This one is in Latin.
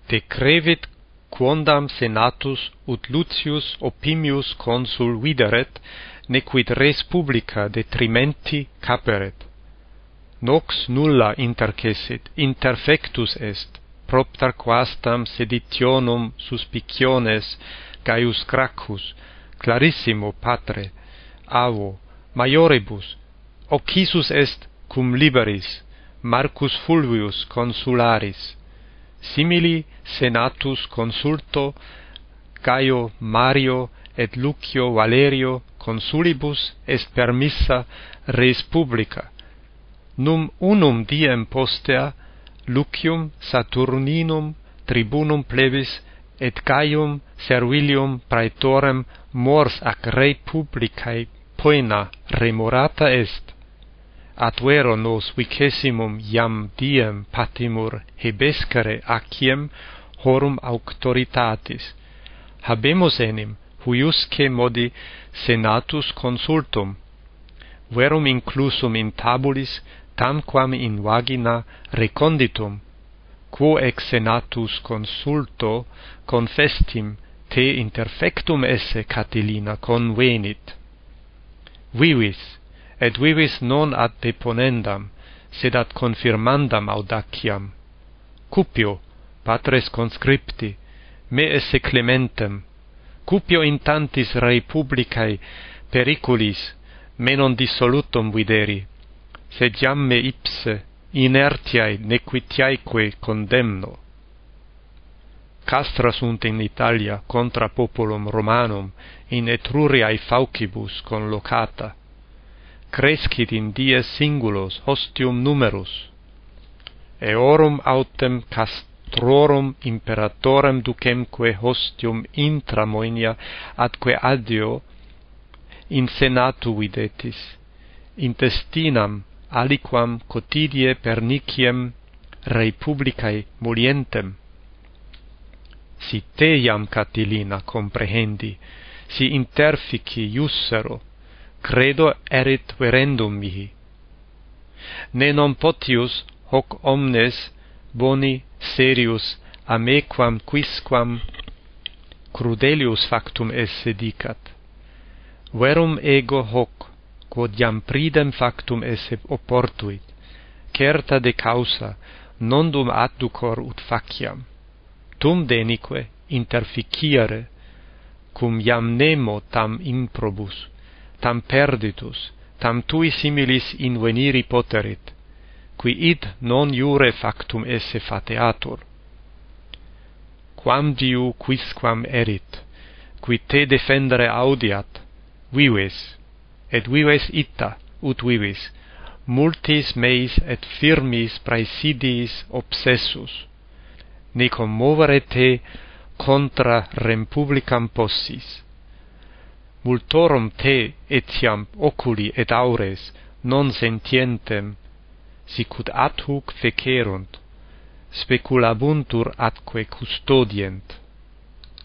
decrevit quondam senatus ut Lucius Opimius consul videret, nequid res publica detrimenti caperet. Nox nulla intercessit, interfectus est, propter quastam seditionum suspiciones Gaius Gracchus, clarissimo patre, avo, maioribus, occisus est cum liberis, Marcus Fulvius consularis, simili senatus consulto Gaio Mario et Lucio Valerio consulibus est permissa res publica. Num unum diem postea Lucium Saturninum tribunum plebis et Gaium servilium praetorem mors ac rei publicae poena remorata est. At vero nos vicessimum iam diem patimur hebescere aciem horum auctoritatis. Habemus enim huiusce modi senatus consultum, verum inclusum in tabulis tamquam in vagina reconditum, quo ex senatus consulto confestim te interfectum esse Catilina convenit. Vivis, et vivis non ad deponendam, sed ad confirmandam audaciam. Cupio, patres conscripti, me esse clementem, cupio in tantis rei publicae periculis me non dissolutum videri, sed jam me ipse inertiae nequitiaeque condemno. Castra sunt in Italia contra populum Romanum in Etruriae faucibus conlocata, crescit in dies singulos hostium numerus, eorum autem castrorum imperatorem ducemque hostium intra Moenia atque adio in senatu videtis, intestinam aliquam quotidie perniciem rei publicae molientem. Si te iam Catilina comprehendi, si interfici iussero, credo erit verendum mihi. Ne non potius hoc omnes boni serius a mequam quisquam crudelius factum esse dicat. Verum ego hoc, quod iam pridem factum esse oportuit, certa de causa, nondum adducor ut faciam. Tum denique interficiere, cum iam nemo tam improbus, tam perditus, tam tui similis inveniri poterit, qui id non iure factum esse fateatur. Quam diu quisquam erit, qui te defendere audiat, vives, et vives ita, ut vivis, multis meis et firmis praesidiis obsessus, ne commovere te contra rem publicam possis. Multorum te etiam oculi et aures non sentientem, sicut ad hoc fecerunt, speculabuntur atque custodient.